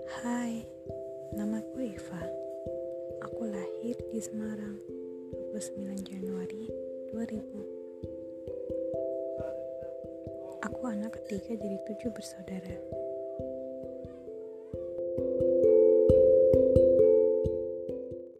Hai, namaku Iva. Aku lahir di Semarang 29 Januari 2000. Aku anak ketiga dari 7 bersaudara.